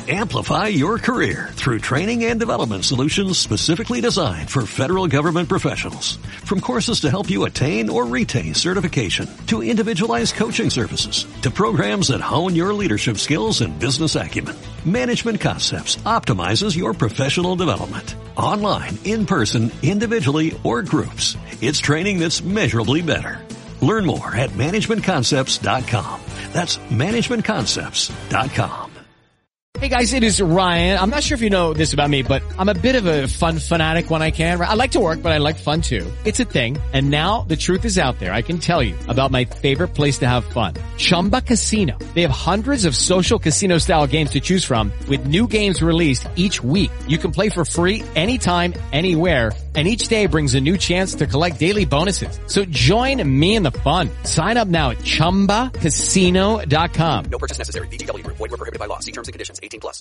Amplify your career through training and development solutions specifically designed for federal government professionals. From courses to help you attain or retain certification, to individualized coaching services, to programs that hone your leadership skills and business acumen, Management Concepts optimizes your professional development. Online, in person, individually, or groups, it's training that's measurably better. Learn more at managementconcepts.com. That's managementconcepts.com. Hey guys, it is Ryan. I'm not sure if you know this about me, but I'm a bit of a fun fanatic when I can. I like to work, but I like fun too. It's a thing. And now the truth is out there. I can tell you about my favorite place to have fun. Chumba Casino. They have hundreds of social casino style games to choose from with new games released each week. You can play for free anytime, anywhere. And each day brings a new chance to collect daily bonuses. So join me in the fun. Sign up now at ChumbaCasino.com. No purchase necessary. VGW Group. Void where prohibited by law. See terms and conditions. 18+.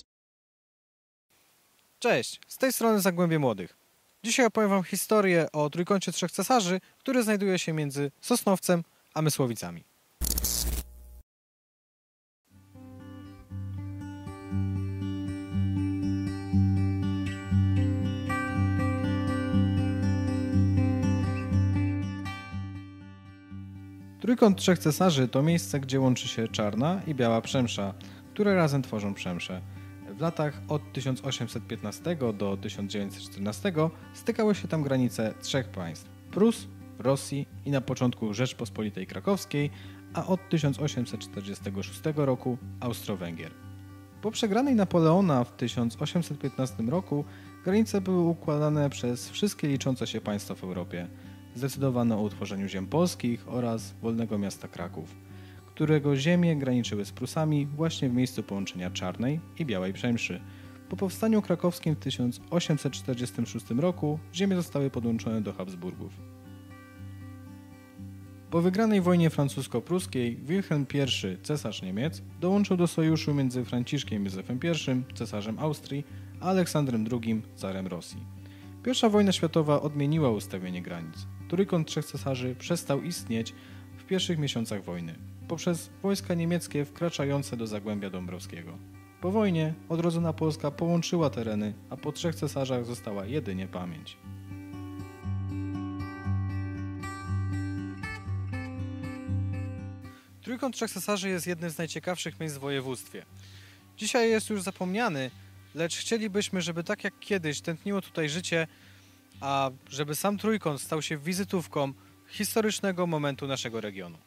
Cześć, z tej strony Zagłębie Młodych. Dzisiaj opowiem wam historię o Trójkącie Trzech Cesarzy, który znajduje się między Sosnowcem a Mysłowicami. Trójkąt Trzech Cesarzy to miejsce, gdzie łączy się Czarna i Biała Przemsza, które razem tworzą Przemszę. W latach od 1815 do 1914 stykały się tam granice trzech państw: Prus, Rosji i na początku Rzeczpospolitej Krakowskiej, a od 1846 roku Austro-Węgier. Po przegranej Napoleona w 1815 roku granice były układane przez wszystkie liczące się państwa w Europie. Zdecydowano o utworzeniu ziem polskich oraz wolnego miasta Kraków, którego ziemie graniczyły z Prusami właśnie w miejscu połączenia Czarnej i Białej Przemszy. Po powstaniu krakowskim w 1846 roku ziemie zostały podłączone do Habsburgów. Po wygranej wojnie francusko-pruskiej Wilhelm I, cesarz Niemiec, dołączył do sojuszu między Franciszkiem Józefem I, cesarzem Austrii, a Aleksandrem II, carem Rosji. Pierwsza wojna światowa odmieniła ustawienie granic. Trójkąt Trzech Cesarzy przestał istnieć w pierwszych miesiącach wojny poprzez wojska niemieckie wkraczające do Zagłębia Dąbrowskiego. Po wojnie odrodzona Polska połączyła tereny, a po trzech cesarzach została jedynie pamięć. Trójkąt Trzech Cesarzy jest jednym z najciekawszych miejsc w województwie. Dzisiaj jest już zapomniany, lecz chcielibyśmy, żeby tak jak kiedyś tętniło tutaj życie, a żeby sam Trójkąt stał się wizytówką historycznego momentu naszego regionu.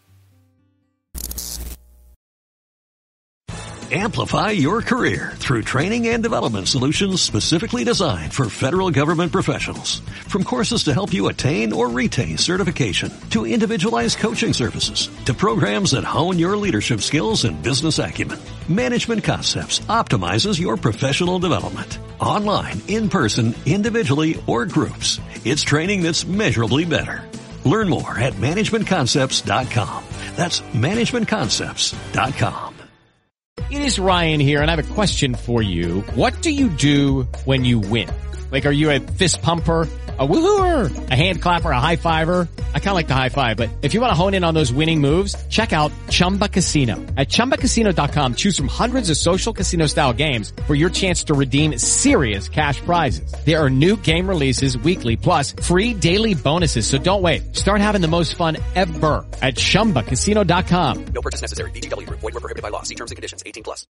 Amplify your career through training and development solutions specifically designed for federal government professionals. From courses to help you attain or retain certification, to individualized coaching services, to programs that hone your leadership skills and business acumen, Management Concepts optimizes your professional development. Online, in person, individually, or groups, it's training that's measurably better. Learn more at managementconcepts.com. That's managementconcepts.com. It is Ryan here, and I have a question for you. What do you do when you win? Like, are you a fist pumper, a woohooer, a hand clapper, a high fiver? I kind of like the high five, but if you want to hone in on those winning moves, check out Chumba Casino. At ChumbaCasino.com, choose from hundreds of social casino style games for your chance to redeem serious cash prizes. There are new game releases weekly, plus free daily bonuses. So don't wait. Start having the most fun ever at ChumbaCasino.com. No purchase necessary. VGW Group. Void where prohibited by law. See terms and conditions. 18+.